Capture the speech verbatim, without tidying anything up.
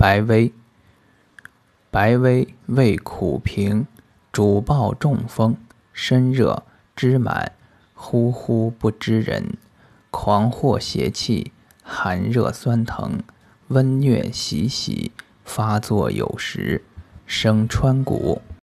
白薇。白薇味苦平，主暴中风，身热，肢满，呼呼不知人，狂惑邪气，寒热酸疼，温疟袭袭，发作有时，生川谷。